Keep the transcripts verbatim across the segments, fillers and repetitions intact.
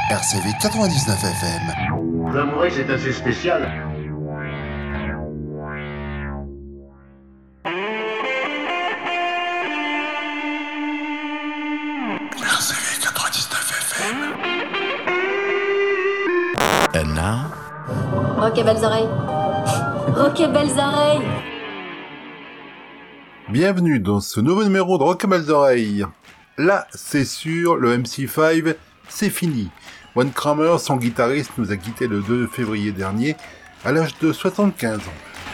R C V quatre-vingt-dix-neuf F M. Vous avouerez que c'est assez spécial. R C V quatre-vingt-dix-neuf F M. And now? Ok, belles oreilles. Ok, belles oreilles. Bienvenue dans ce nouveau numéro de Rock et Belles Oreilles. Là, c'est sûr, le M C cinq, c'est fini. Wayne Kramer, son guitariste, nous a quittés le deux février dernier, à l'âge de soixante-quinze ans.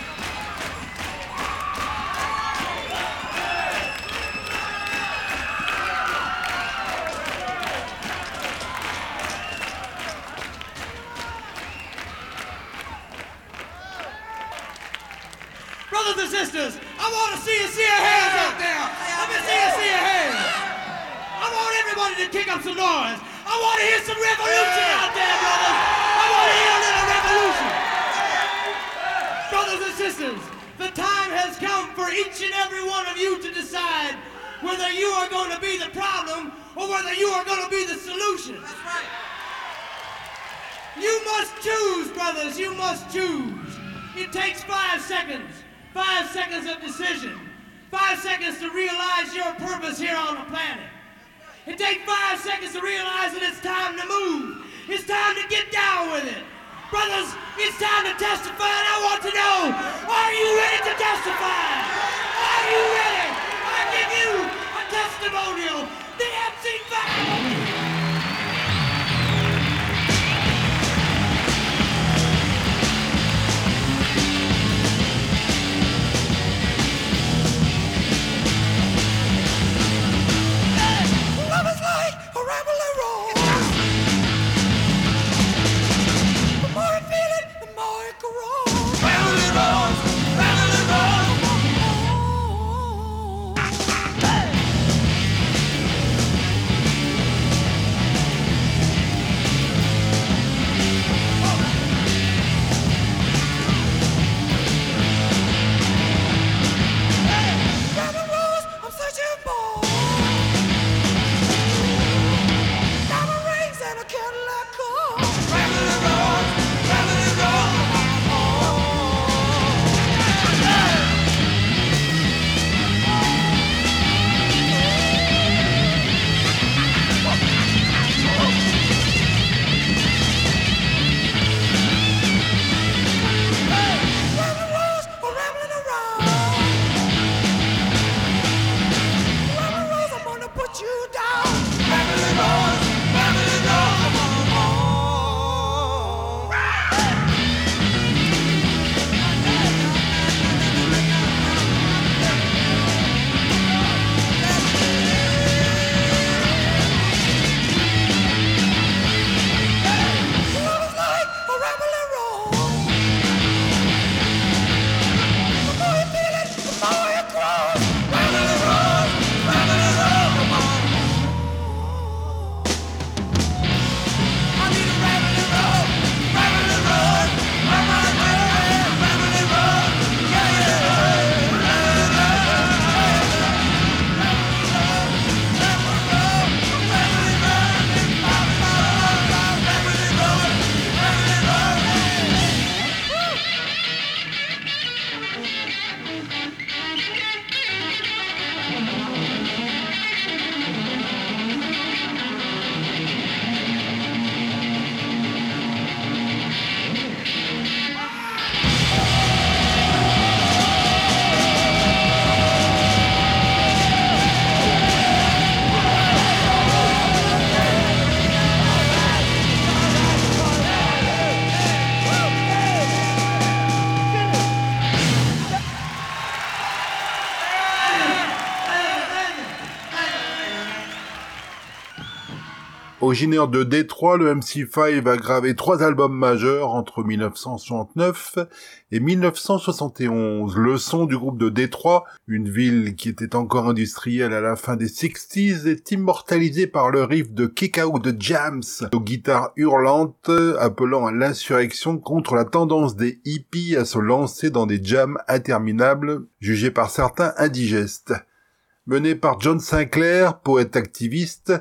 Brothers and sisters, I want to see you see your hands out there. Let me see you see your hands. I want everybody to kick up some noise. I want to hear some revolution out there, brothers. I want to hear a little revolution. Brothers and sisters, the time has come for each and every one of you to decide whether you are going to be the problem or whether you are going to be the solution. That's right. You must choose, brothers. You must choose. It takes five seconds. Five seconds of decision. Five seconds to realize your purpose here on the planet. It takes five seconds to realize that it's time to move. It's time to get down with it. Brothers, it's time to testify, and I want to know, are you ready to testify? Are you ready? I give you a testimonial. The M C five. Originaire de Détroit, le M C cinq a gravé trois albums majeurs entre mille neuf cent soixante-neuf et mille neuf cent soixante et onze. Le son du groupe de Détroit, une ville qui était encore industrielle à la fin des sixties, est immortalisé par le riff de Kick Out the Jams, aux guitares hurlantes, appelant à l'insurrection contre la tendance des hippies à se lancer dans des jams interminables, jugés par certains indigestes. Mené par John Sinclair, poète activiste,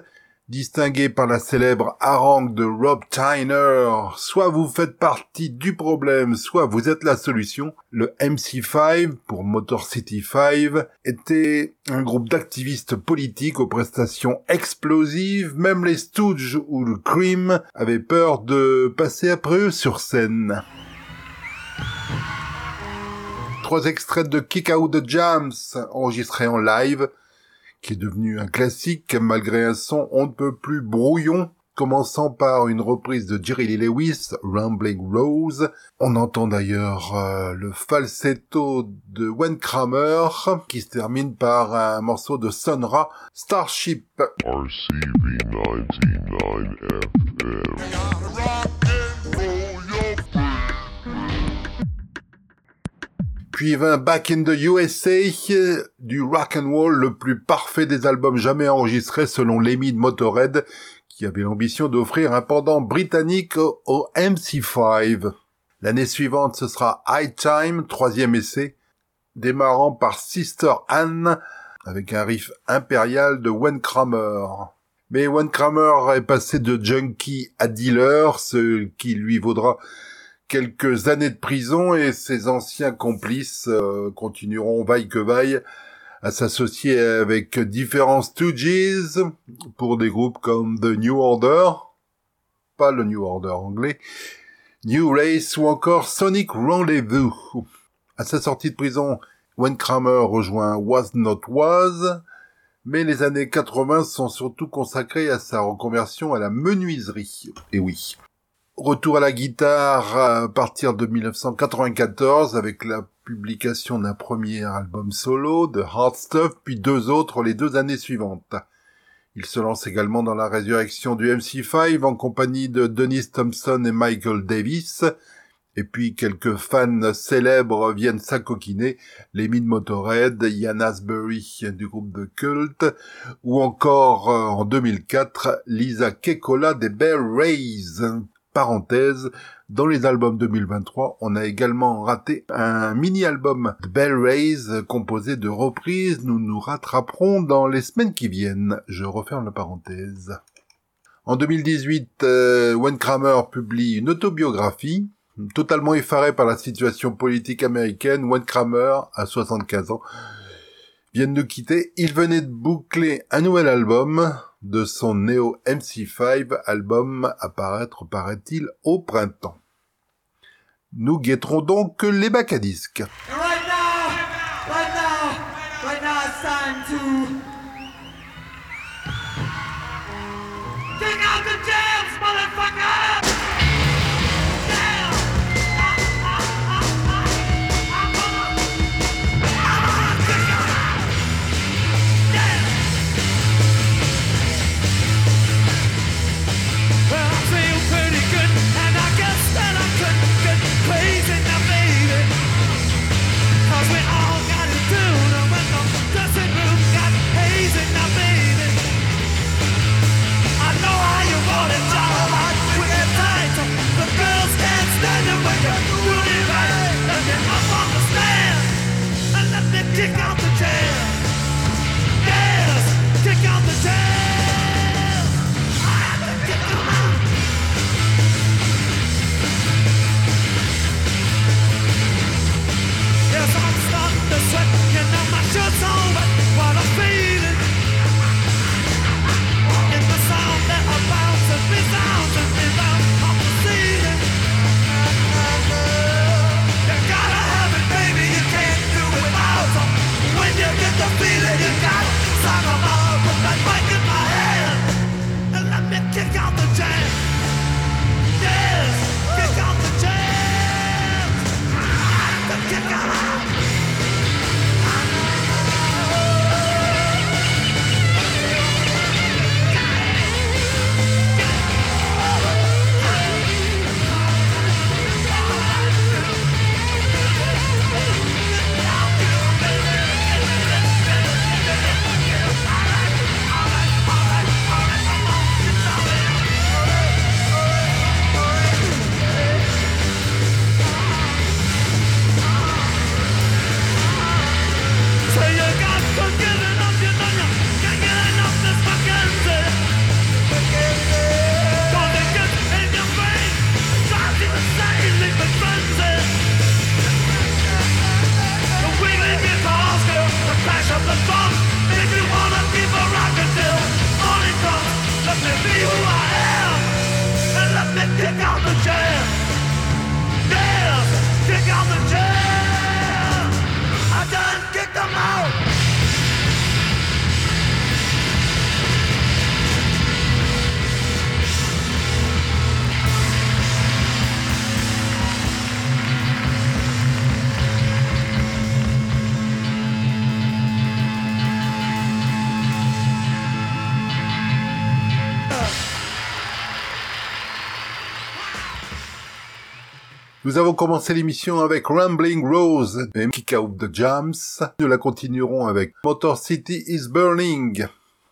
Distingué par la célèbre harangue de Rob Tyner, soit vous faites partie du problème, soit vous êtes la solution, le M C cinq, pour Motor City cinq, était un groupe d'activistes politiques aux prestations explosives. Même les Stooges ou le Cream avaient peur de passer après eux sur scène. Trois extraits de Kick Out the Jams, enregistrés en live, qui est devenu un classique malgré un son on ne peut plus brouillon, commençant par une reprise de Jerry Lee Lewis, Rambling Rose. On entend d'ailleurs euh, le falsetto de Wayne Kramer, qui se termine par un morceau de Sun Ra, Starship. R C V ninety-nine F M. Puis vint Back in the U S A, du rock and roll le plus parfait des albums jamais enregistrés selon Lemmy de Motorhead, qui avait l'ambition d'offrir un pendant britannique au, au M C cinq. L'année suivante, ce sera High Time, troisième essai, démarrant par Sister Anne, avec un riff impérial de Wayne Kramer. Mais Wayne Kramer est passé de junkie à dealer, ce qui lui vaudra quelques années de prison, et ses anciens complices euh, continueront vaille que vaille à s'associer avec différents Stooges pour des groupes comme The New Order, pas le New Order anglais, New Race ou encore Sonic Rendezvous. À sa sortie de prison, Wayne Kramer rejoint Was Not Was, mais les années quatre-vingts sont surtout consacrées à sa reconversion à la menuiserie. Et oui. Retour à la guitare à partir de dix-neuf cent quatre-vingt-quatorze avec la publication d'un premier album solo, de Hard Stuff, puis deux autres les deux années suivantes. Il se lance également dans la résurrection du M C cinq en compagnie de Dennis Thompson et Michael Davis, et puis quelques fans célèbres viennent s'acoquiner, Lemmy de Motorhead, Ian Astbury du groupe de Cult, ou encore euh, en deux mille quatre, Lisa Kekkola des Bear Rays. Parenthèse, dans les albums deux mille vingt-trois, on a également raté un mini-album de Bear Rays composé de reprises. Nous nous rattraperons dans les semaines qui viennent. Je referme la parenthèse. En deux mille dix-huit, euh, Wayne Kramer publie une autobiographie. Totalement effaré par la situation politique américaine, Wayne Kramer, à soixante-quinze ans, vient de nous quitter. Il venait de boucler un nouvel album de son Neo M C cinq, album à paraître, paraît-il, au printemps. Nous guetterons donc les bacs à disques. Right now, right now, right now it's time to kick out the jams, motherfucker! Yeah! I'm gonna, I'm gonna kick out! Yeah! Well, I feel pretty good, and I guess that I could get crazy now, baby. Nous avons commencé l'émission avec Rambling Rose et Kick Out the Jams. Nous la continuerons avec Motor City is Burning.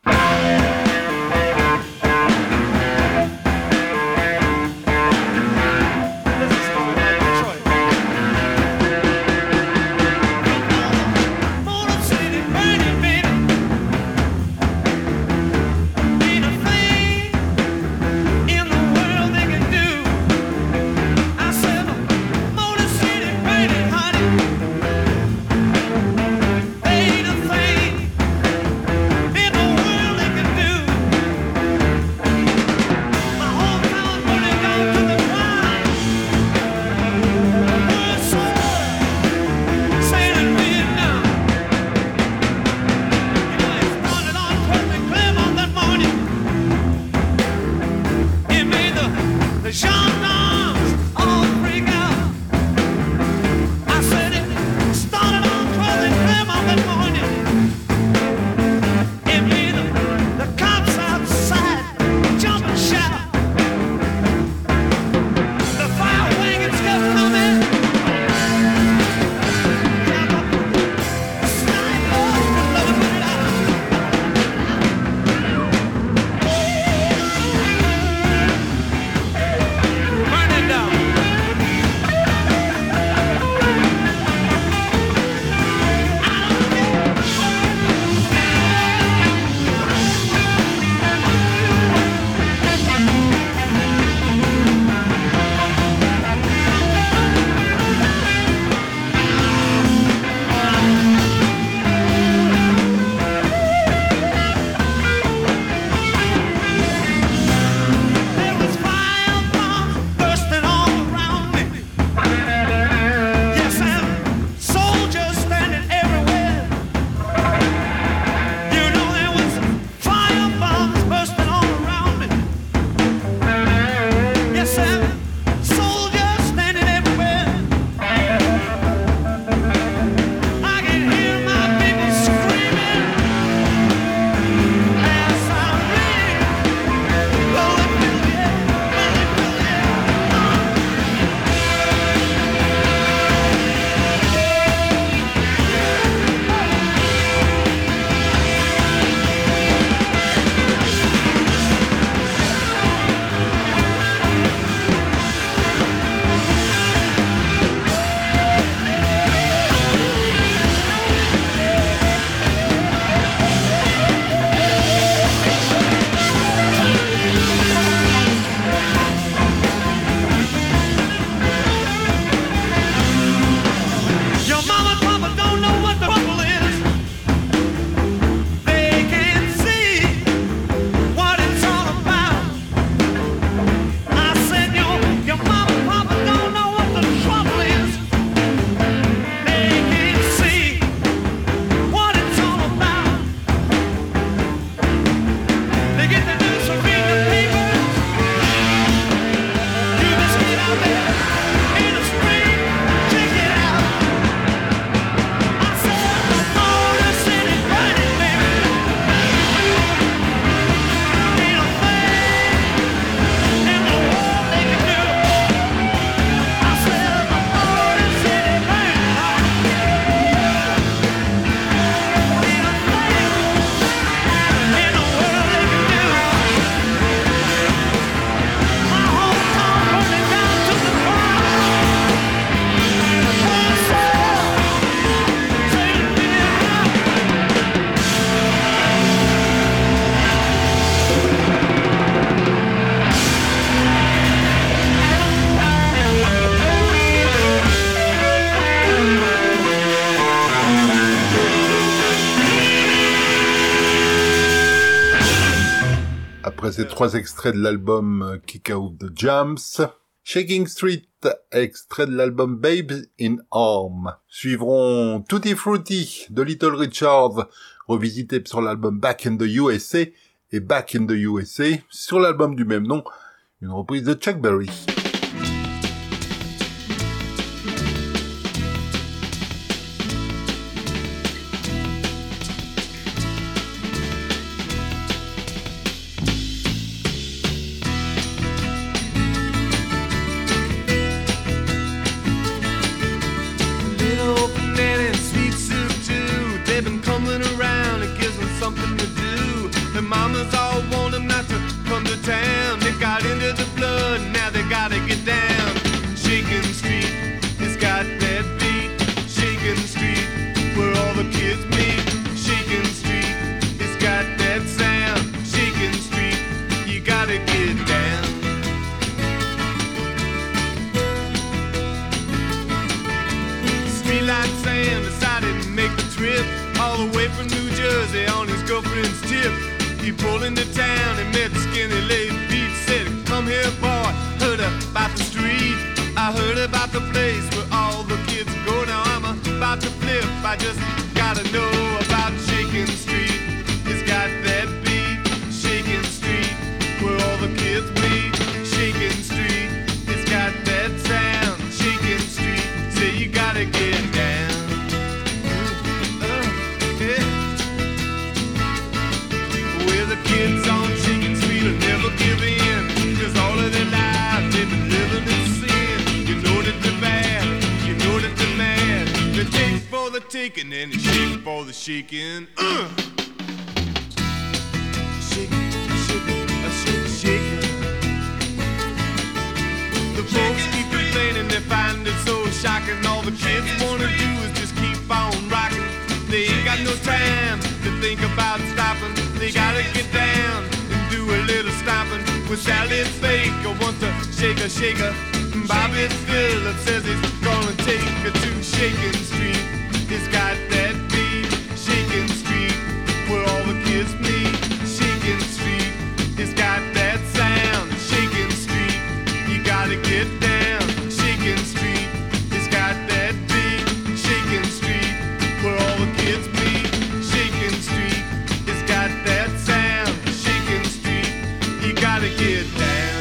Après ces trois extraits de l'album Kick Out the Jams, Shaking Street, extrait de l'album Babes in Arm. Suivront Tutti Frutti de Little Richard, revisité sur l'album Back in the U S A, et Back in the U S A sur l'album du même nom, une reprise de Chuck Berry. Farmers all want them not to come to town. They got into the blood, now they gotta get down. Shakin' Street, it's got that beat. Shakin' Street, where all the kids meet. Shakin' Street, it's got that sound. Shakin' Street, you gotta get down. Streetlight Sam decided to make the trip all the way from New Jersey on his girlfriend's tip. He pulled into town and met Skinny Lady Pete. Said, come here, boy, heard about the street. I heard about the place where all the kids go. Now I'm about to flip, I just gotta know about Shakin' Street. It's got that beat, Shakin' Street, where all the kids meet. Shakin' Street, it's got that sound. Shakin' Street, say you gotta get down. Uh, yeah. Where the kids on Shakin' Street will never give in, 'cause all of their lives they've been living in sin. You know that they're bad, you know that they're mad. They take for the taking and they shake for the shaking. Uh. Shake, shake, shake, shake. The folks keep complaining, they find it so shocking. All the kids wanna do is just keep on rocking. They ain't got no time to think about stopping. They gotta get down and do a little stomping. With Sally Baker wants to shake a shaker. Bobby Phillips says he's gonna take her to Shakin' Street. It's got that beat, Shakin' Street, where all the kids meet. Shakin' Street, it's got that sound. Shakin' Street, you gotta get down. Shakin' Street, it's got that beat. Shakin' Street, where all the kids meet. Shakin' Street, it's got that sound. Shakin' Street, you gotta get down.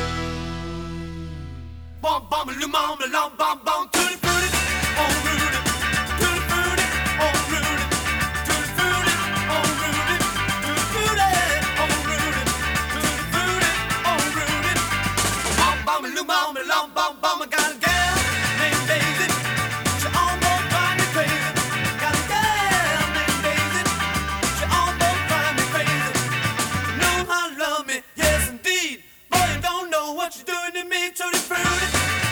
Bum bum lum bum lum bum bum tutti frutti, oh Rudy, tutti frutti, oh Rudy, tutti frutti, oh Rudy, tutti frutti, oh Rudy, tutti frutti, oh Rudy. Bum bum lum bum lum bum bum, I got a gal named Daisy. She almost drives me crazy. Got a gal named Daisy. She almost drives me crazy. You know how to love me, yes indeed. Boy, you don't know what you're doing to me, tutti frutti.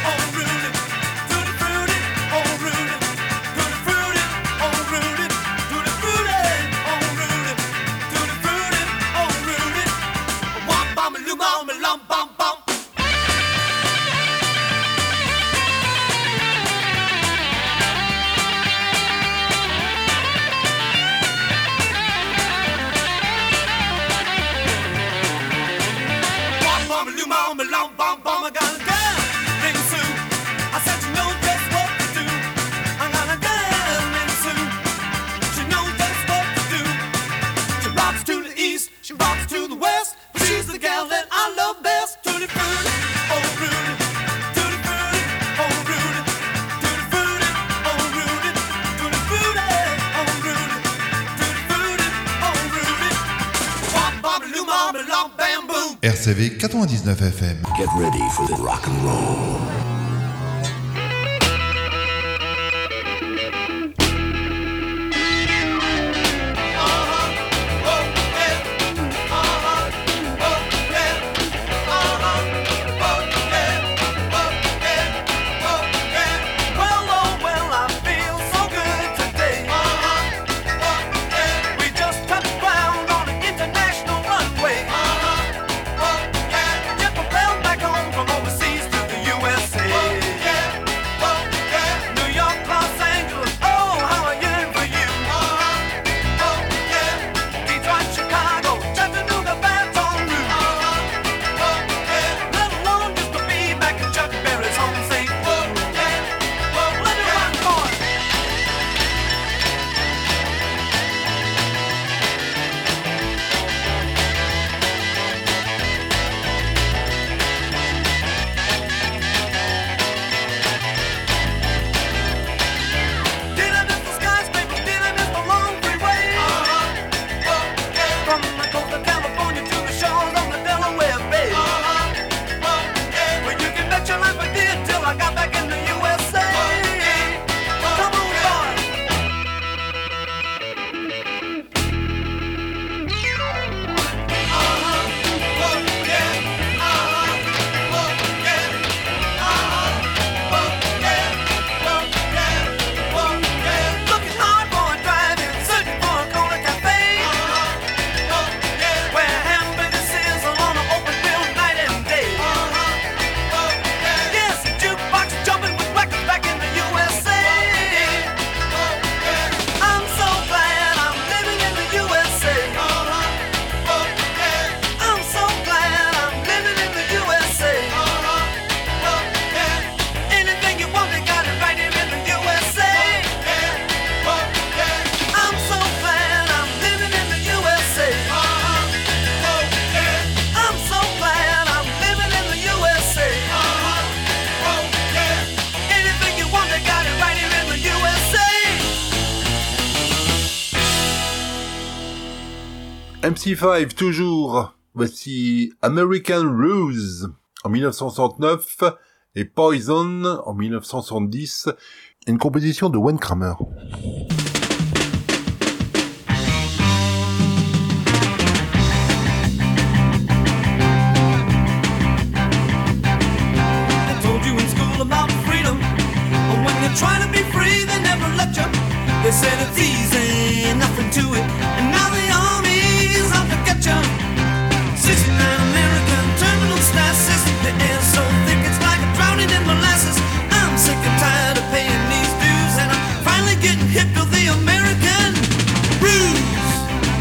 R C V quatre-vingt-dix-neuf F M. Get ready for the rock and roll. Jet propelled back home from overseas to the U S A. M C cinq toujours. Voici American Ruse en dix-neuf cent soixante-neuf et Poison en dix-neuf cent soixante-dix. Une composition de Wayne Kramer. Trying to be free, they never let you. They said it's easy, nothing to it. And now the army's out to get you. sixty-nine American terminal stasis. The air's so thick it's like drowning in molasses. I'm sick and tired of paying these dues, and I'm finally getting hip to the American ruse.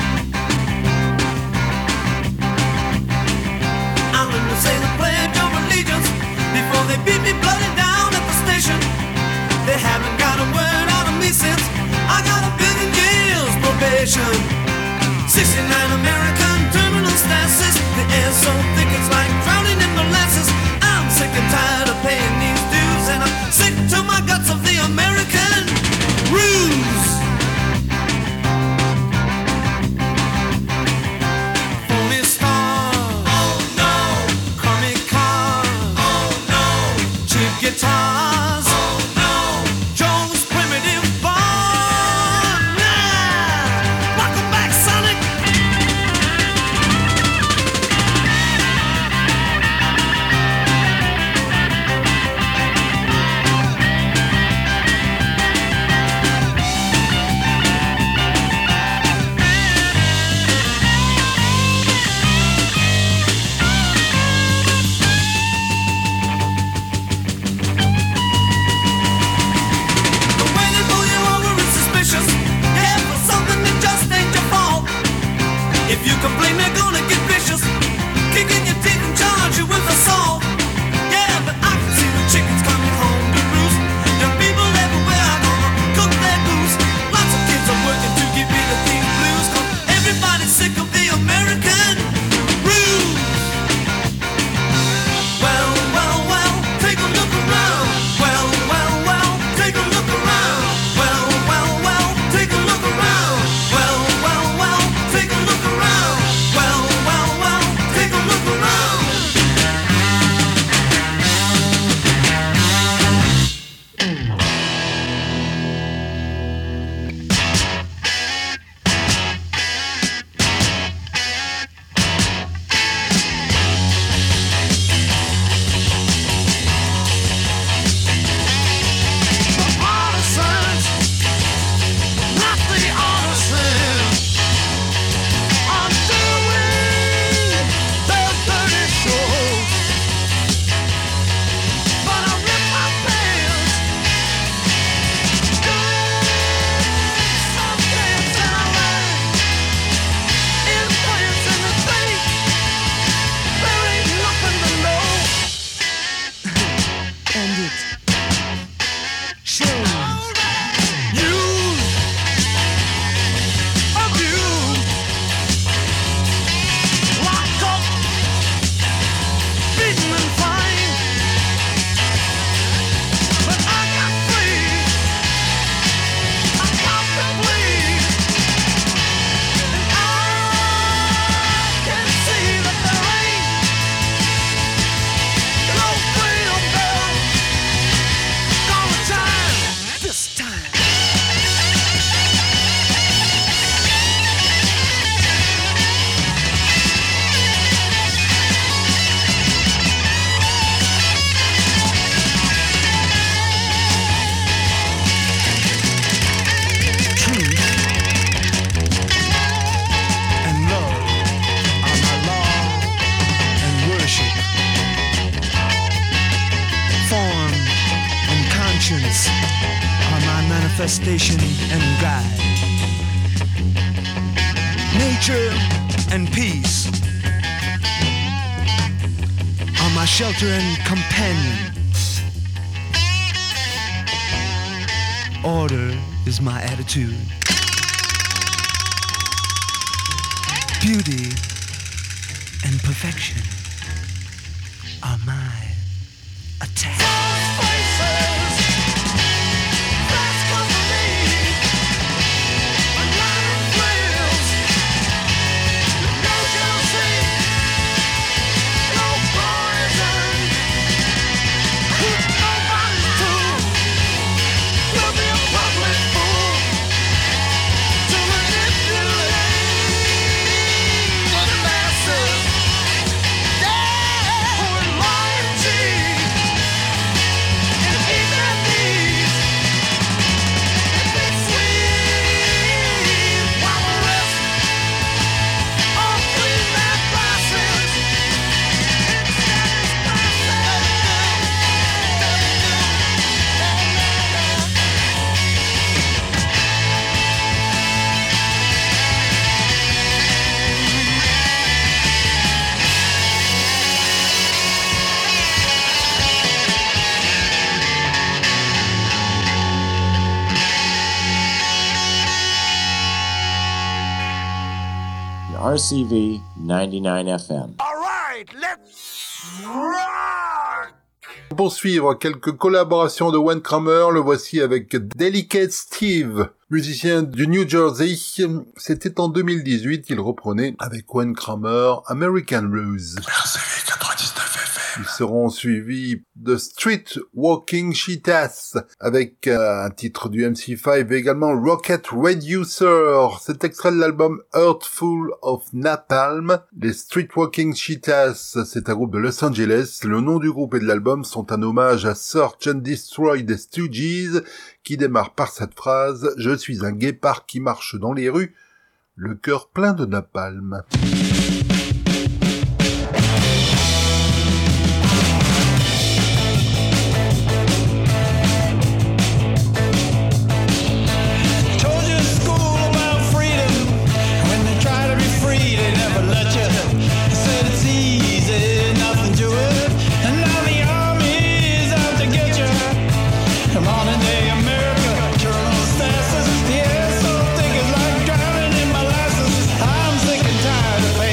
I'm gonna say the pledge of allegiance before they beat me bloody down at the station. They haven't got a word out of me since I got a billion years probation. sixty-nine American terminal stasis. The air's so thick it's like drowning in molasses. I'm sick and tired of paying these dues, and I'm sick to my guts of the American ruse. For me stars, oh no. Comic cars, oh no. Cheap guitars, complain, they're gonna get vicious, kicking your teeth and charge you with assault. Yeah, but I can see the chickens coming home to roost. Young people everywhere are gonna cook their goose. Lots of kids are working to give me the theme blues, 'cause everybody's sick of the American ruse. Well, well, well, take a look around. Well, well, well, take a look around. Well, well, well, take a look around. Well, well, well, take a look around. Well, well, well, take a look around. The partisans, not the artisans, are doing their dirty show. But I rip my pants, doing some dance, and I learn in France and the States, there ain't nothing to know. And it shows. Use, abuse, locked up, beaten and fined. But I got free, I got to bleed, and I can see that there ain't no freedom there. Gonna time this time. Truth and love are my law and worship. Form and conscience are my manifestation and guide. Nature and peace are my shelter and companion. Order is my attitude. Beauty and perfection are my attack. C V ninety-nine F M. All right, let's rock! Pour suivre quelques collaborations de Wayne Kramer, le voici avec Delicate Steve, musicien du New Jersey. C'était en deux mille dix-huit qu'il reprenait avec Wayne Kramer American Blues. R C V quatre-vingt-dix-neuf F M. Ils seront suivis de Street Walking Cheetahs avec euh, un titre du M C cinq et également Rocket Reducer. C'est extrait de l'album Earthful of Napalm. Les Street Walking Cheetahs, c'est un groupe de Los Angeles. Le nom du groupe et de l'album sont un hommage à Search and Destroy des Stooges, qui démarre par cette phrase « Je suis un guépard qui marche dans les rues, le cœur plein de napalm ». Tired of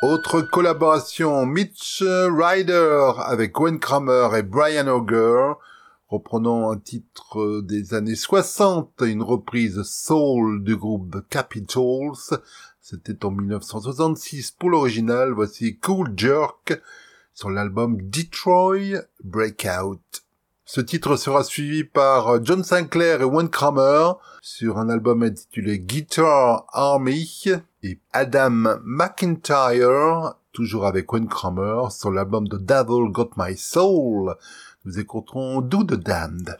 Autre collaboration, Mitch Ryder avec Gwen Kramer et Brian Auger, reprenant un titre des années soixante, une reprise soul du groupe The Capitals. C'était en dix-neuf cent soixante-six pour l'original. Voici Cool Jerk sur l'album Detroit Breakout. Ce titre sera suivi par John Sinclair et Gwen Kramer sur un album intitulé Guitar Army et Adam McIntyre, toujours avec Gwen Kramer, sur l'album The Devil Got My Soul. Nous écouterons Do the Damned.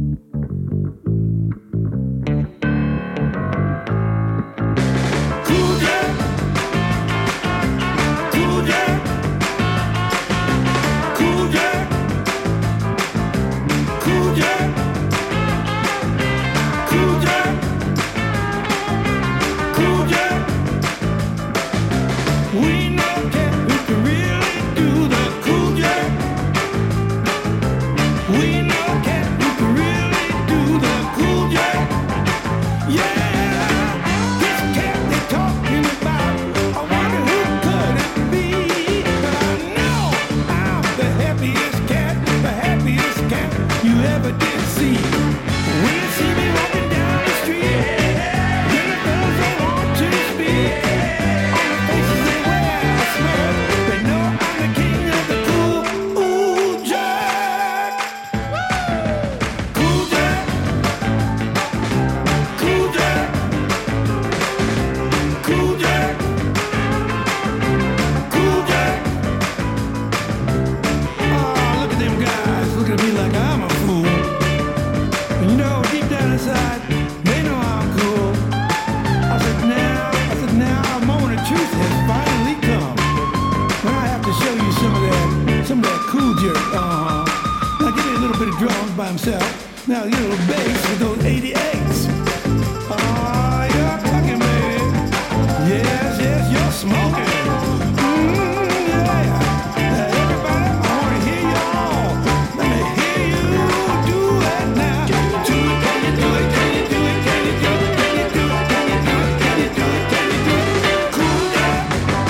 Now you little bass with those eighty-eights. Oh, you're cooking, baby. Yes, yes, you're smoking. Mm, yeah. Now, everybody, I want to hear you all. Let me hear you do it now. Do it, can you do it? Can you do it? Can you do it? Can you do it? Can you do it? Can you do it? Can you do it? Cool down.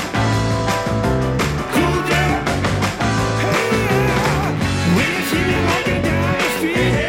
Cool down. Hey, yeah. When you see me walking down the street,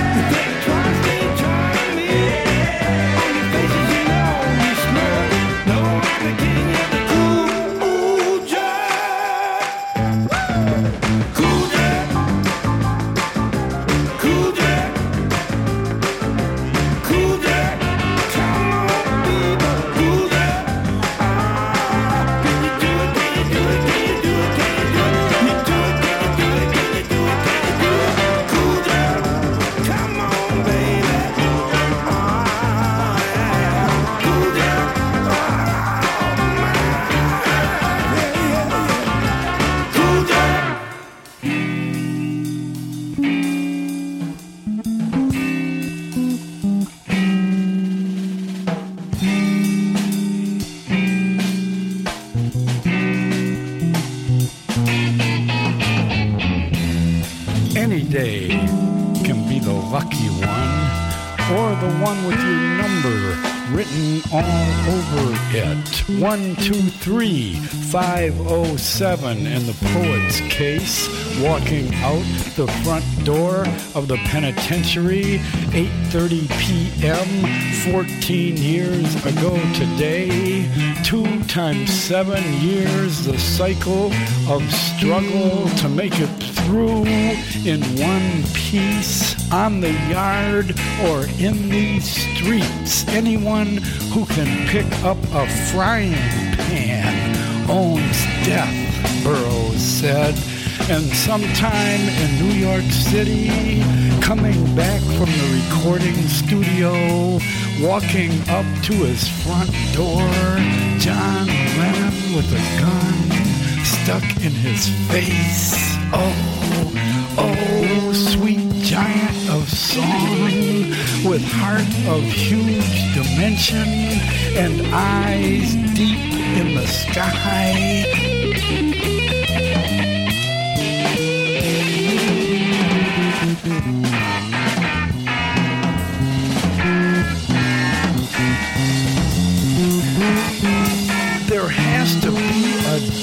Any day can be the lucky one, or the one with your number written all over it. One, two, three, five, oh, seven in the poet's case, walking out the front door of the penitentiary, eight thirty p.m., fourteen years ago today. Two times seven years, the cycle of struggle to make it through in one piece, on the yard or in these streets. Anyone who can pick up a frying pan owns death, Burroughs said. And sometime in New York City, coming back from the recording studio, walking up to his front door, John Lennon with a gun stuck in his face. Oh, oh, sweet giant of song, with heart of huge dimension and eyes deep in the sky. There has to be a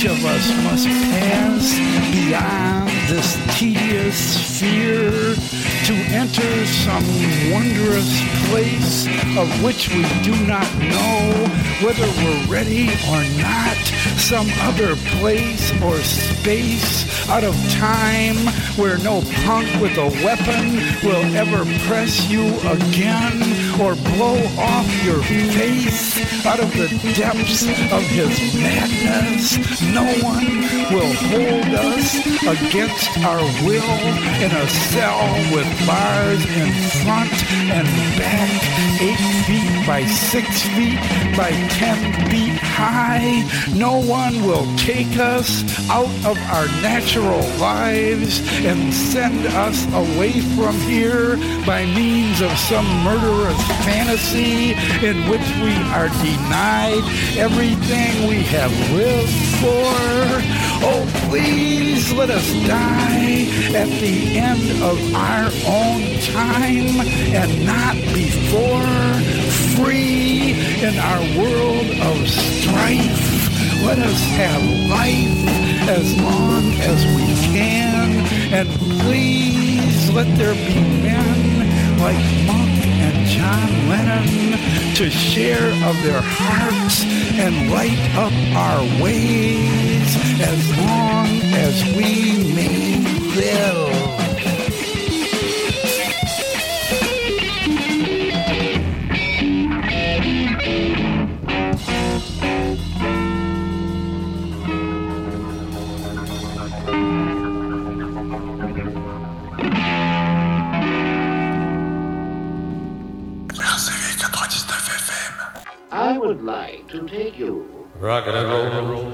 of us must pass beyond this tedious sphere to enter some wondrous place of which we do not know whether we're ready or not, some other place or space out of time where no punk with a weapon will ever press you again or blow off your face out of the depths of his madness. No one will hold us against our will in a cell with bars in front and back, eight feet by six feet by ten feet high. No one will take us out of our natural lives and send us away from here by means of some murderous fantasy in which we are denied everything we have lived for. Oh, please let us die at the end of our own time and not before, free in our world of strife. Let us have life as long as we can, and please let there be men like Monk and John Lennon to share of their hearts and light up our ways as long as we may live. I would like to take you. Rock and roll.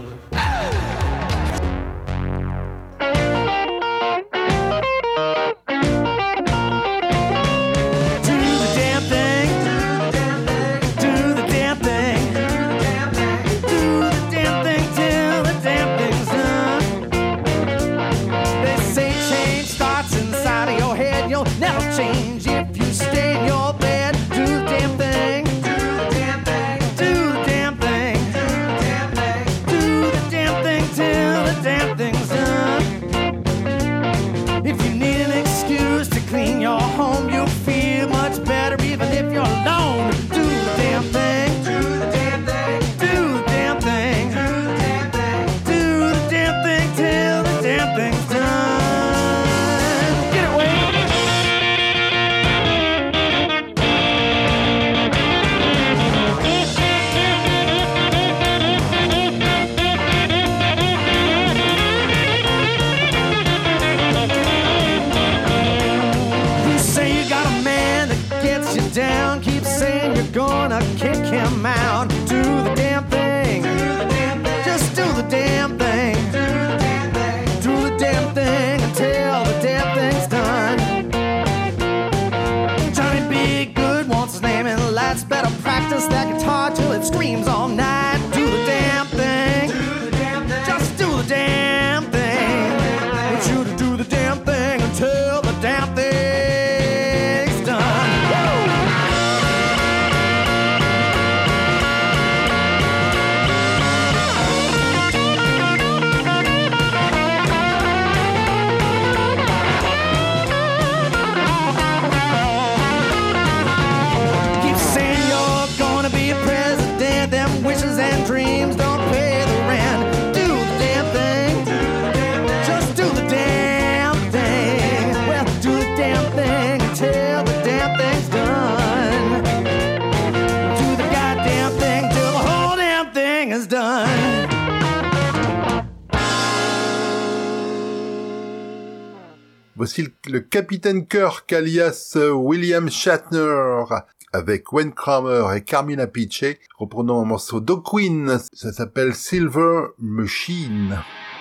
Voici le capitaine Kirk alias William Shatner avec Wayne Kramer et Carmina Piche reprenant un morceau d'O'Queen, ça s'appelle Silver Machine.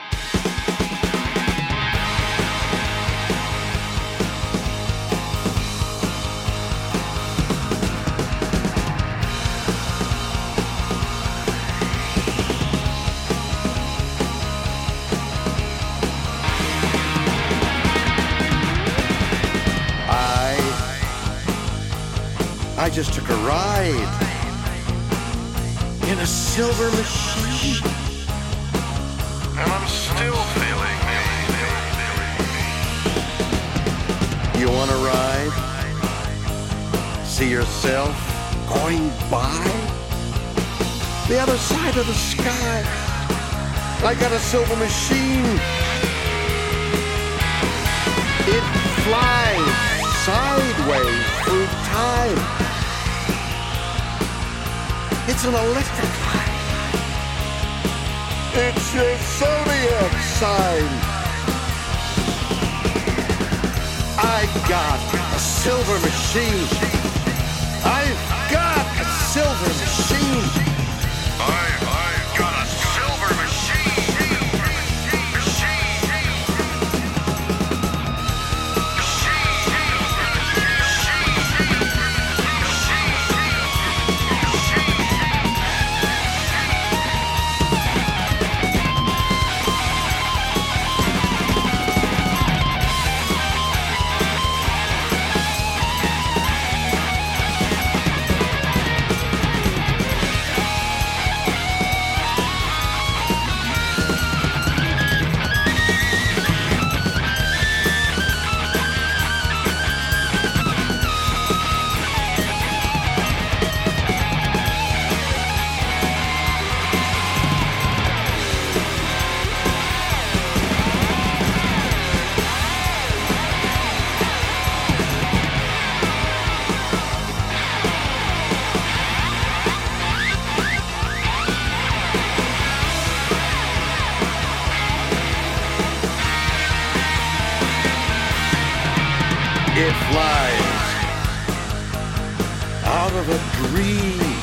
I just took a ride in a silver machine. and I'm still feeling me. You wanna ride? See yourself going by? The other side of the sky. I got a silver machine. It flies sideways through time. It's an electric light. It's your zodiac sign. I got a silver machine. I've got a silver machine. I, I've got a silver machine. It flies out of a dream.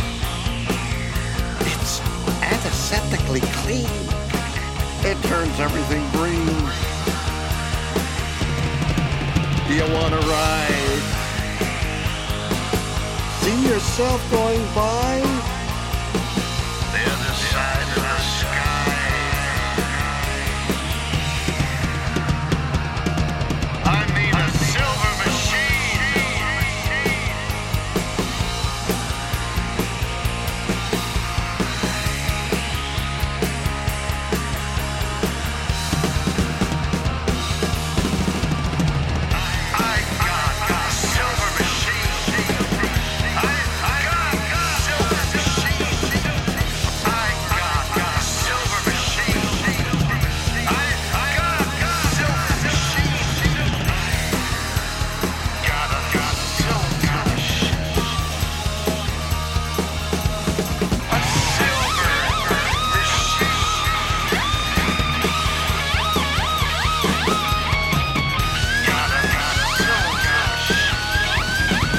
It's antiseptically clean. It turns everything green. Do you want to ride? See yourself going by? The other side of the sky. I mean a silver machine. I got a silver machine. I got a silver machine. I got a silver machine. I got a silver machine. Got a got silver machine. A silver machine. Got a got silver machine.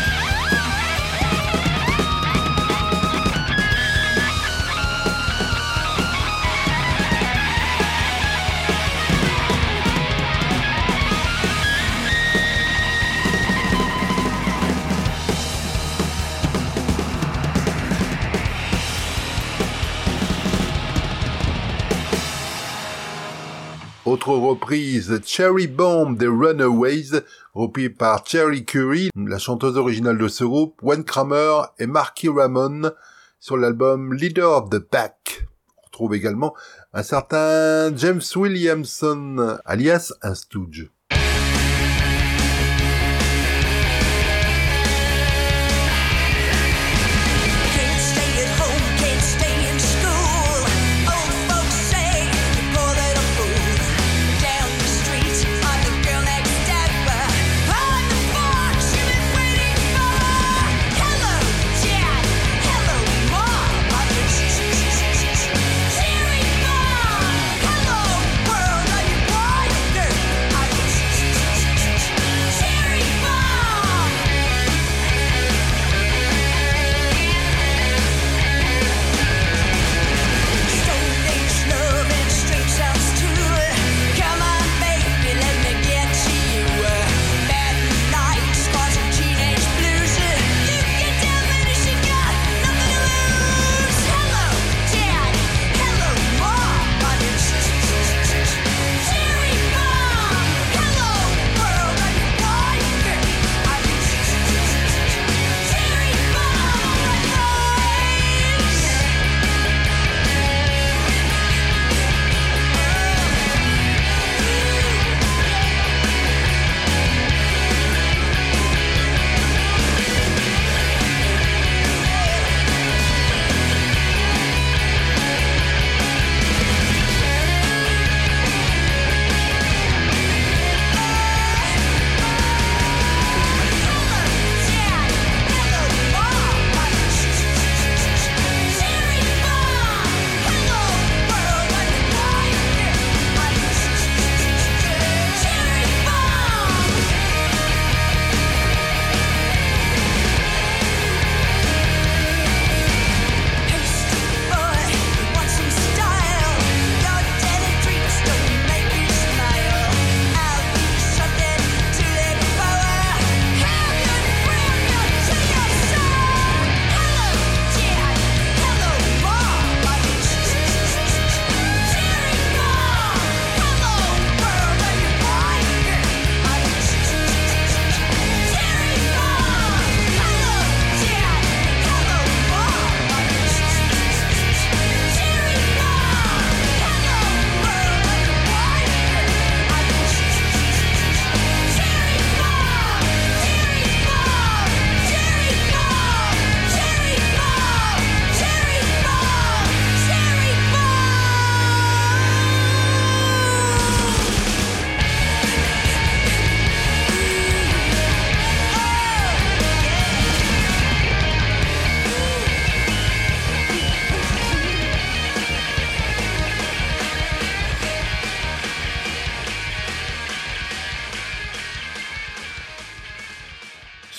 Autre reprise, Cherry Bomb des Runaways, repris par Cherry Curry, la chanteuse originale de ce groupe, Wayne Kramer et Marky Ramone, sur l'album Leader of the Pack. On retrouve également un certain James Williamson, alias un Stooge. Can't stay at home, can't stay in school. Old folks say you're poor little fool. Down the street, I'm the girl next door. On the porch, you've been waiting for. Hello, Dad. Hello, Mom. I'm just cheering on. Hello, world, are you wired? I'm just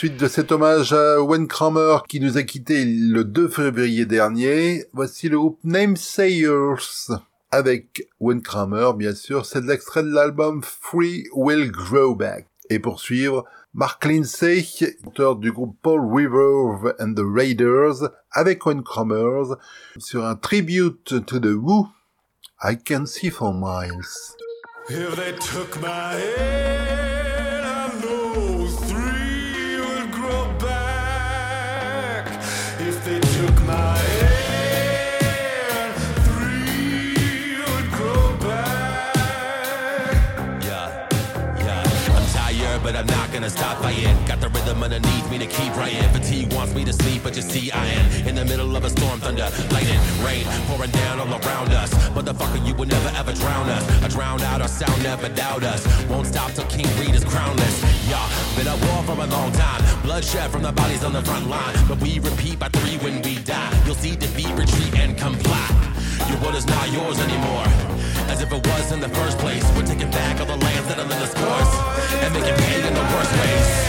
Suite de cet hommage à Wayne Kramer qui nous a quitté le deux février dernier, voici le groupe Namesayers avec Wayne Kramer, bien sûr. C'est de l'extrait de l'album Free Will Grow Back. Et pour suivre, Mark Lindsay, auteur du groupe Paul River and the Raiders, avec Wayne Kramer, sur un tribute to the Who, I Can See for Miles. If they took my head, I know three would grow back. If they took my head, three would grow back. Yeah, yeah. I'm tired, but I'm not gonna stop fighting. Got the rhythm underneath me to keep writing. Fatigue wants me to sleep, but you see I am in the middle of a storm, thunder, lightning, rain pouring down all around us. Motherfucker, you will never ever drown us. I drown out, our sound never doubt us. Won't stop till King Reed is crownless. Y'all been at war for a long time. Bloodshed from the bodies on the front line. But we repeat by three when we die. You'll see defeat, retreat, and comply. Your world is not yours anymore, as if it was in the first place. We're taking back all the lands that are in this course and making pain in the worst ways.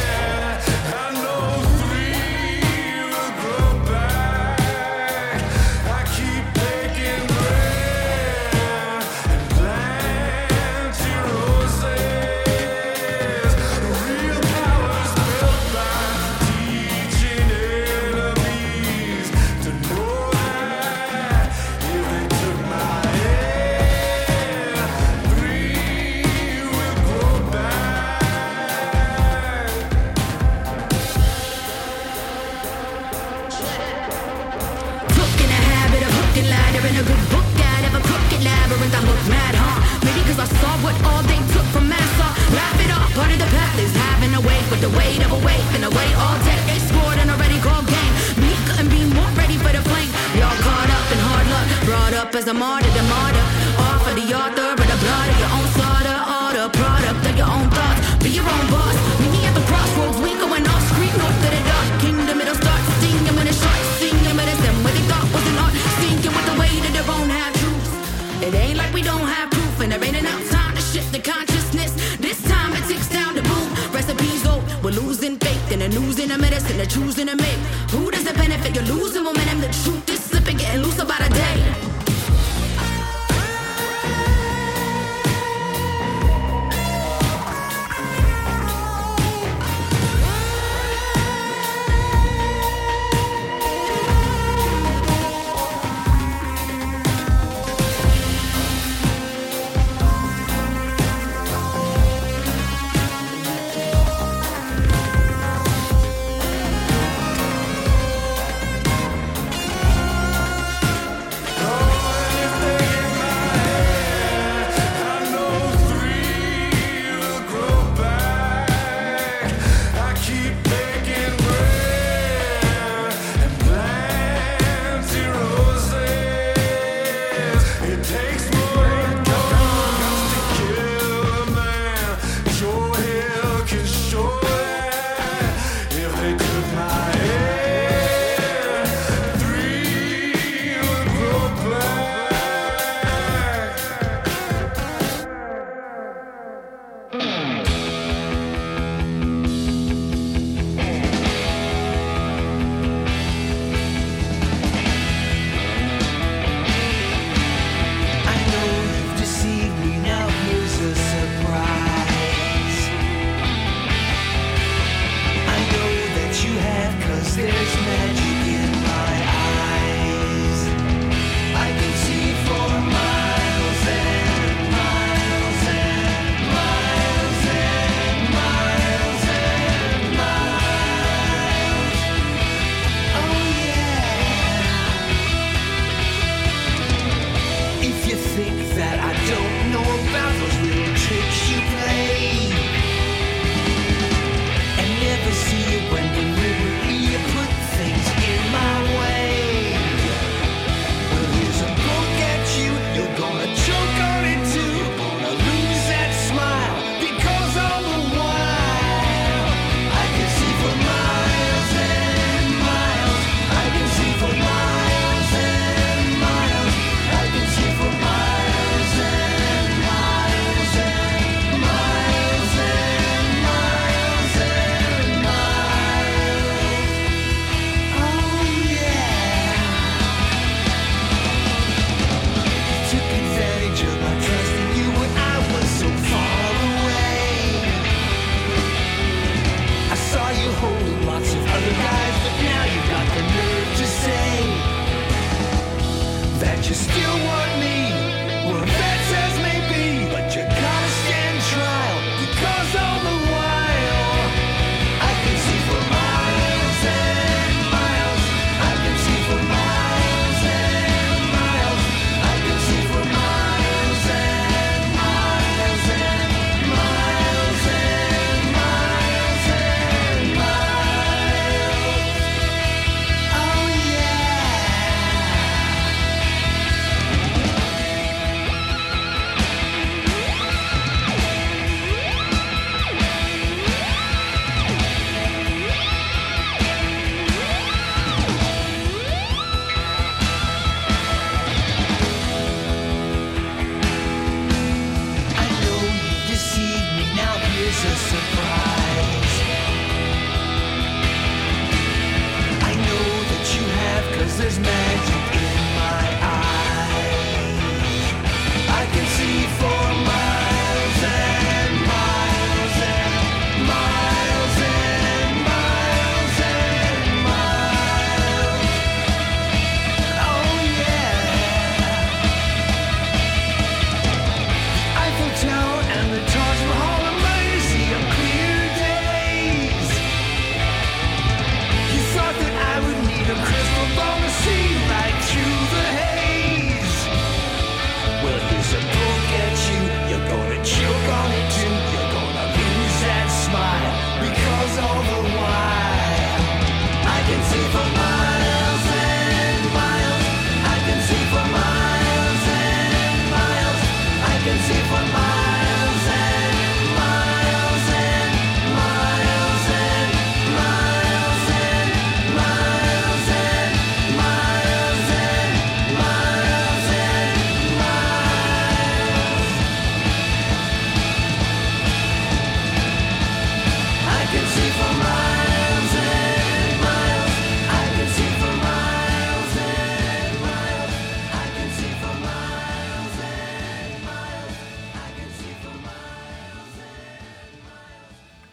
I saw what all they took from Massa. Laugh it off, part of the path is having a wait with the weight of a weight and away all day. They scored an already called game. Me couldn't be more ready for the flame. Y'all caught up in hard luck, brought up as a martyr, the martyr. Off of the author, but the blood of your own slaughter, all the product of your own thoughts. Be your own boss. Meet me at the crossroads, we going off screen north to the dark kingdom. It'll start stinging when it's short, singing with them what they thought was an art, sinking with the weight of their own half truths. It ain't like we don't have proof, and there ain't enough time to shift the consciousness. This time it ticks down to boom. Recipes old, we're losing faith in the news and the medicine they're choosing to make. Who does it benefit? You're losing momentum. The truth is slipping, getting loose about a day.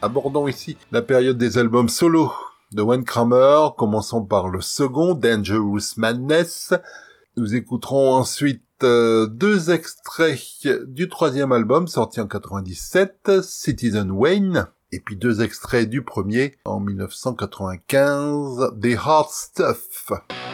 Abordons ici la période des albums solo de Wayne Kramer, commençons par le second, Dangerous Madness. Nous écouterons ensuite euh, deux extraits du troisième album, sorti en quatre-vingt-dix-sept, Citizen Wayne, et puis deux extraits du premier, en dix-neuf cent quatre-vingt-quinze, The Hard Stuff.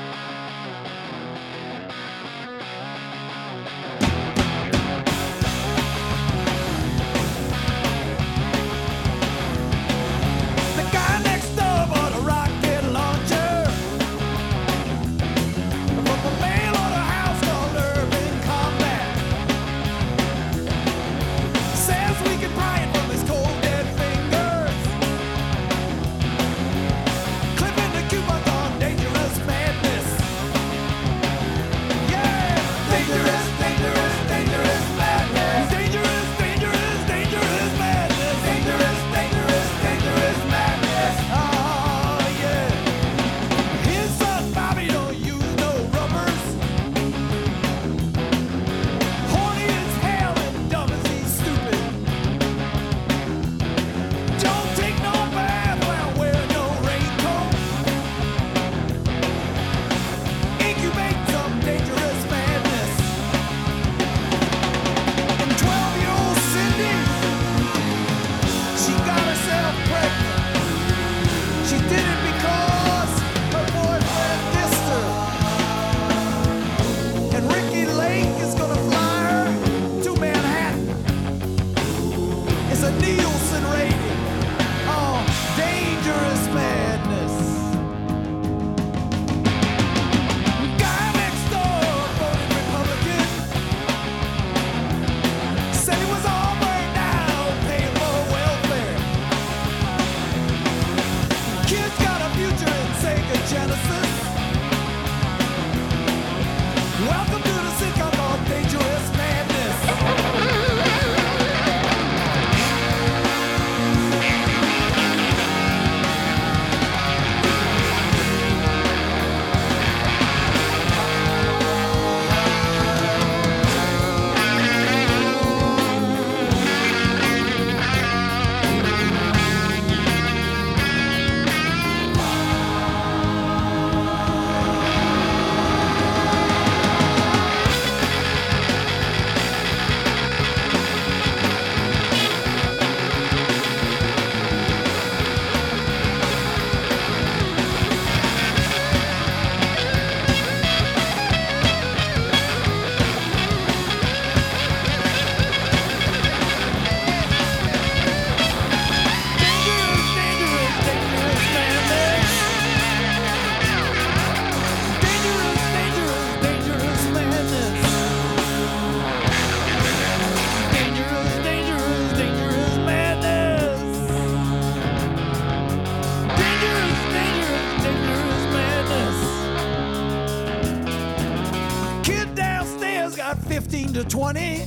fifteen to twenty.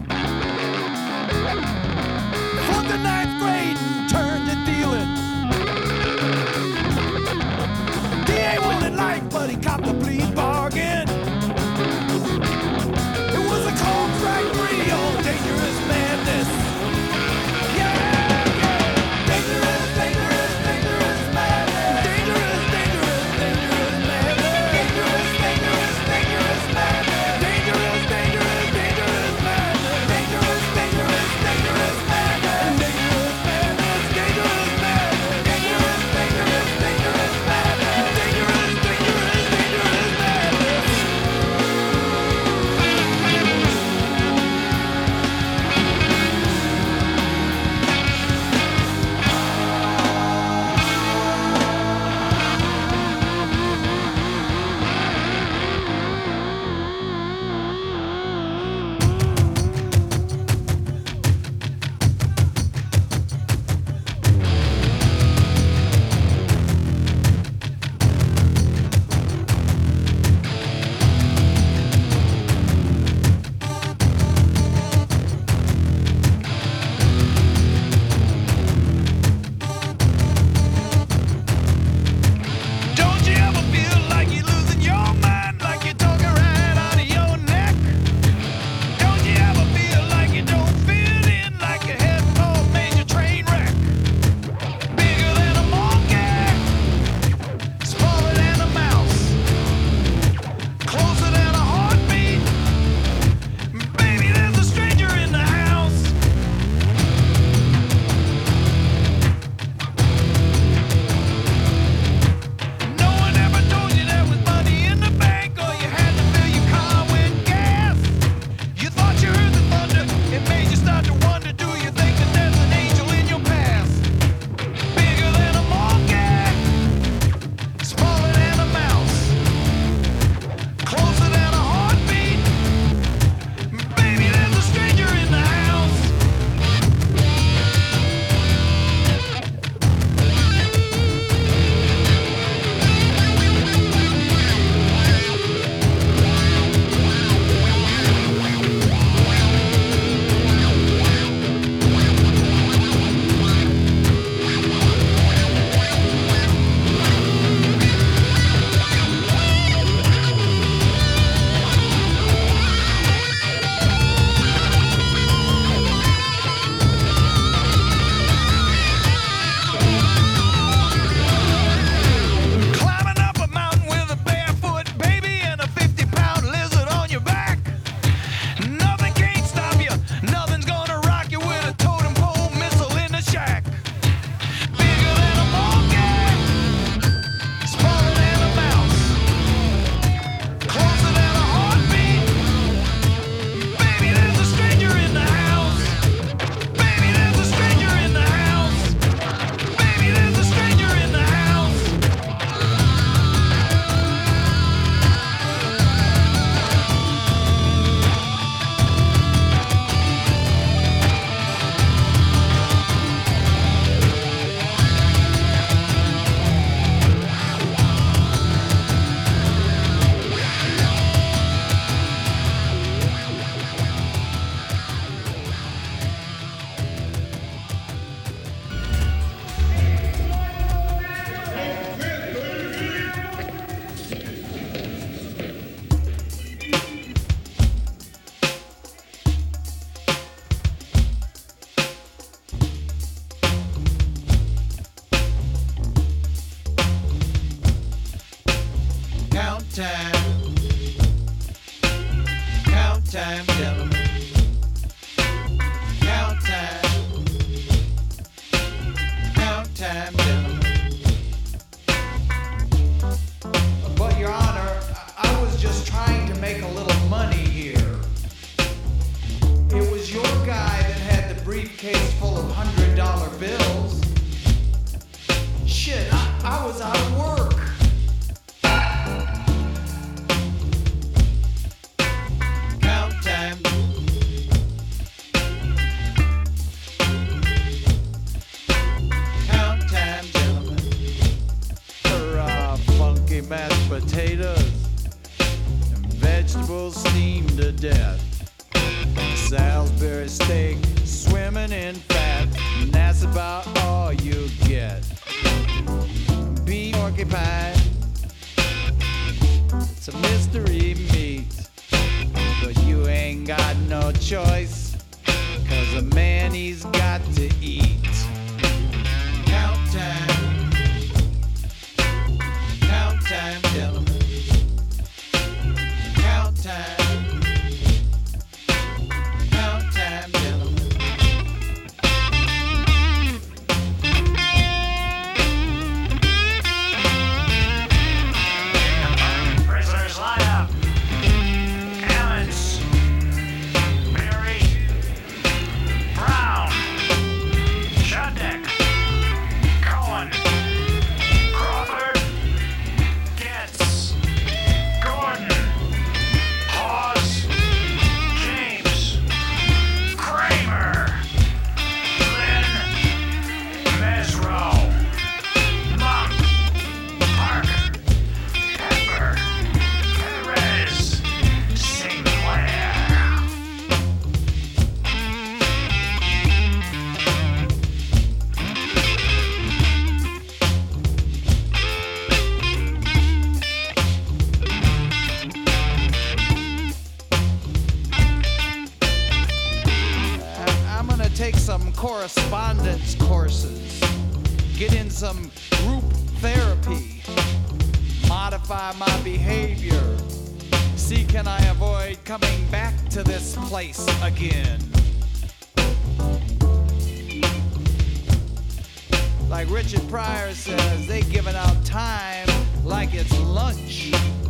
From the ninth grade and turned to dealing. D A wanted life, but he copped a plea bargain. It was a contract free on Dangerous Madness. Yeah, yeah. Dangerous, dangerous, dangerous madness. Dangerous, dangerous, dangerous madness. Dangerous, dangerous, dangerous madness. Dangerous, dangerous, dangerous madness. Dangerous, dangerous, dangerous madness. Dangerous madness, dangerous madness. Dangerous, dangerous, dangerous madness. Dangerous, dangerous, dangerous Count time. Count time, gentlemen. Count time. Count time, gentlemen. But Your Honor, I was just trying to make a little money here. It was your guy that had the briefcase full of hundred dollar bills. Shit, I, I was out of work. Count time. Count time, gentlemen. For uh, funky mashed potatoes and vegetables steamed to death. Salisbury steak swimming in fat, and that's about all you get. Beef porcupine, it's a mystery meat, but you ain't got no choice, cause a man he's got to eat. Count time, count time, gentlemen. Count time. Correspondence courses, get in some group therapy, modify my behavior, see can I avoid coming back to this place again. Like Richard Pryor says, they giving out time like it's lunch.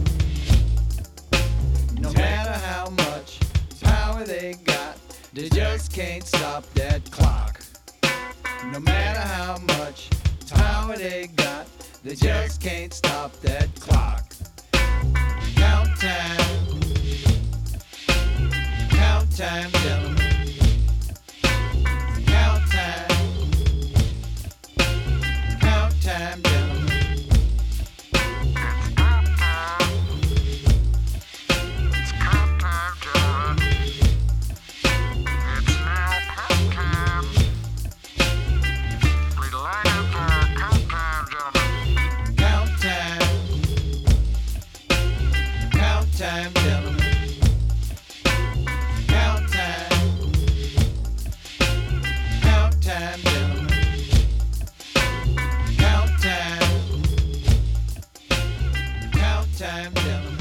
No matter how much power they got, they just can't stop that clock. No matter how much power they got, they just can't stop that clock. Count time. Count time, gentlemen. Count time. Count time, gentlemen. It's count time, gentlemen. It's now count time. We line up for count time, gentlemen. Count time. Count time, gentlemen. Count time. Count time, gentlemen. Count time. Count time, gentlemen.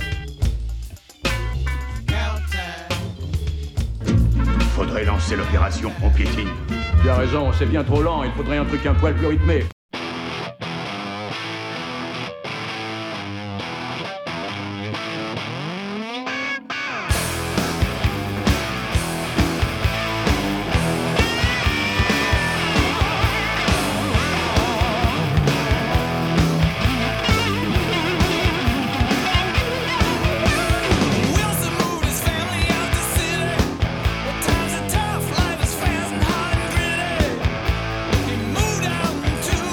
Count time. Faudrait lancer l'opération pompier clean. Tu as raison, c'est bien trop lent, il faudrait un truc un poil plus rythmé. Wilson moved his family out the city. The times are tough, life is fast and hard and gritty. He moved out to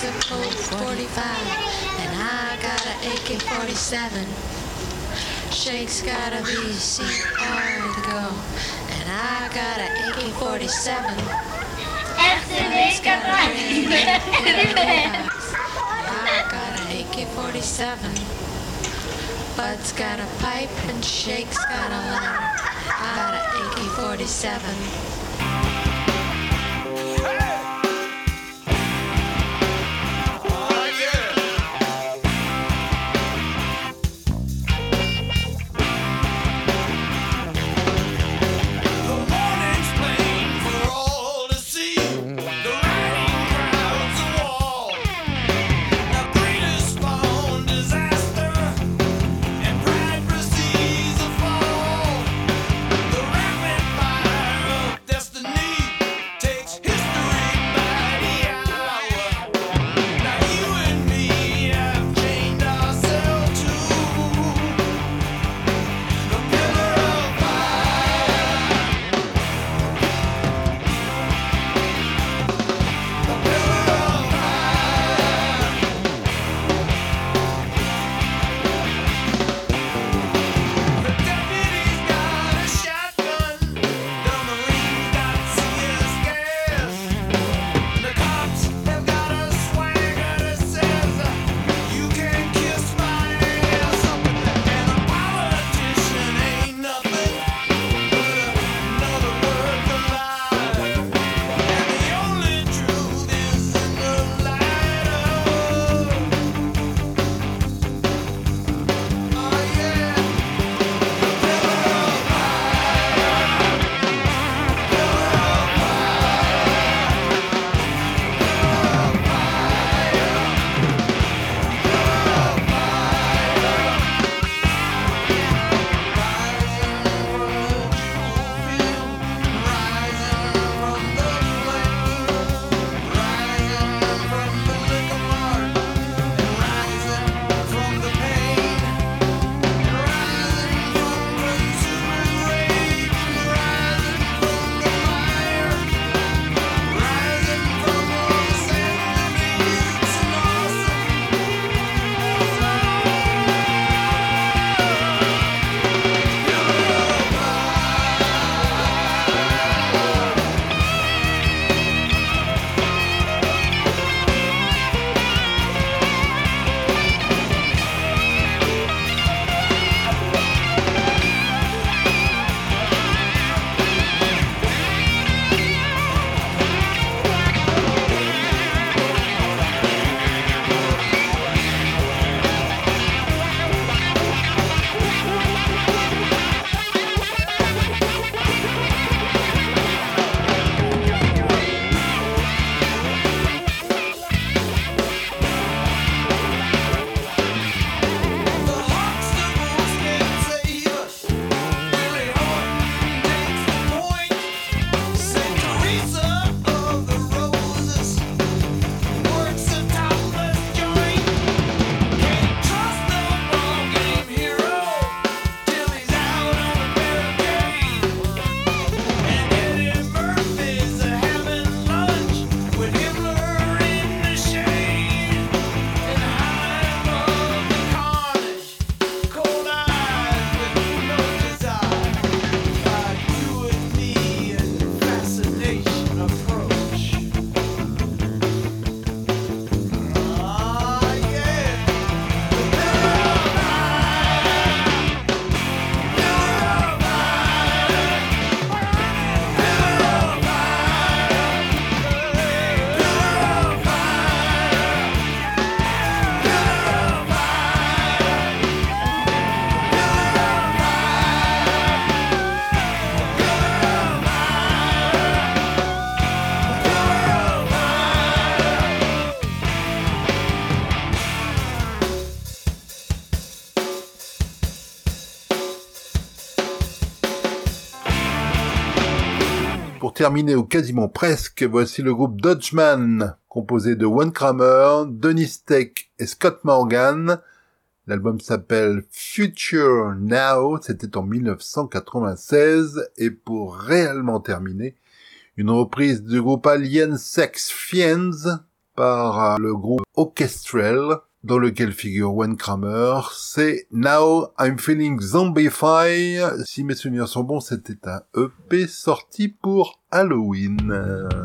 Shakes a Colt forty-five, and I got an A K forty-seven. Shakes got a V C R to go, and I got an A K forty-seven. R C D quatre-vingt-dix. I got an A K forty-seven. Bud's got a pipe and Shake's got a lighter. I got an A K forty-seven. Pour terminer, ou quasiment presque, voici le groupe Dodgeman, composé de Wayne Kramer, Dennis Tech et Scott Morgan. L'album s'appelle Future Now, c'était en mille neuf cent quatre-vingt-seize, et pour réellement terminer, une reprise du groupe Alien Sex Fiends, par le groupe Orchestral, dans lequel figure Wayne Kramer. C'est Now I'm Feeling Zombified. Si mes souvenirs sont bons, c'était un E P sorti pour Halloween.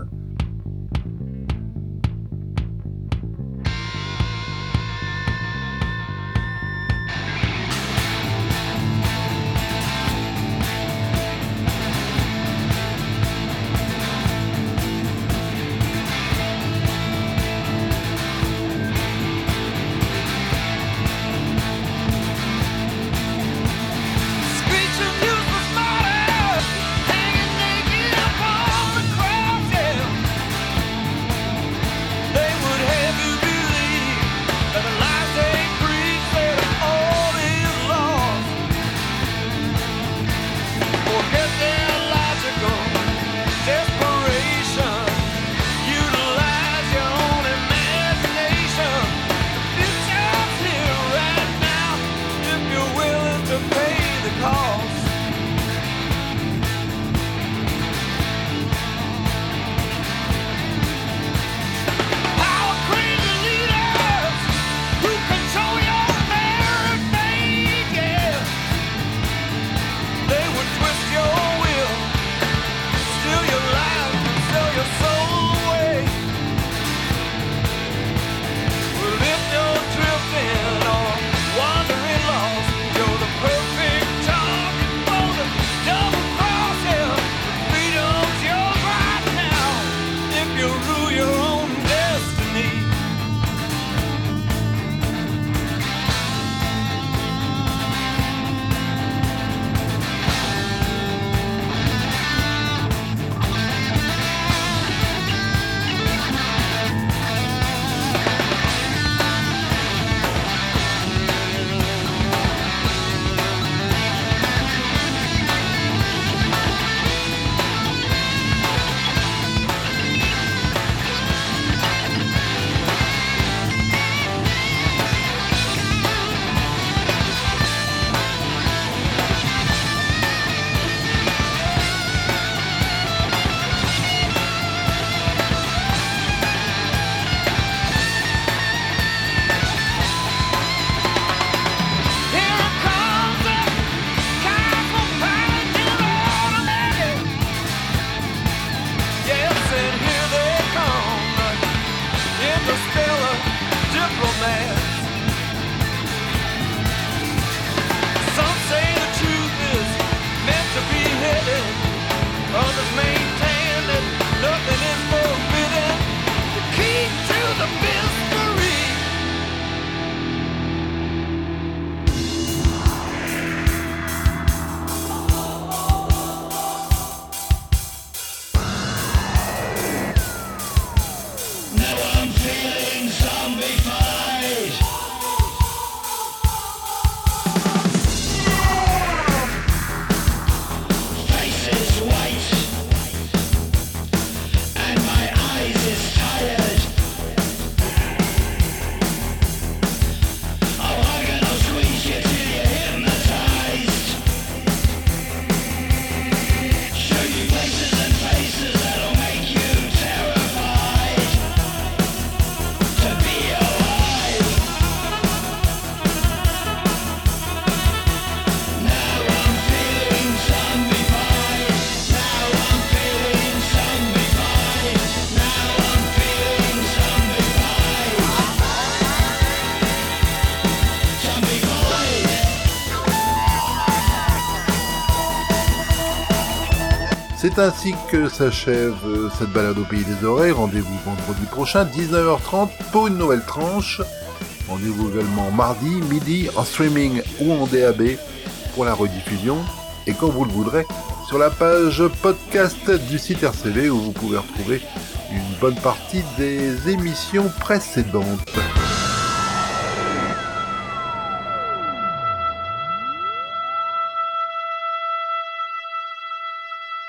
C'est ainsi que s'achève cette balade au pays des oreilles. Rendez-vous vendredi prochain, dix-neuf heures trente, pour une nouvelle tranche. Rendez-vous également mardi, midi, en streaming ou en D A B pour la rediffusion. Et quand vous le voudrez, sur la page podcast du site R C V où vous pouvez retrouver une bonne partie des émissions précédentes.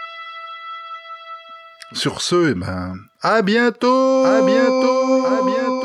Sur ce, eh ben, à bientôt, à bientôt, à bientôt.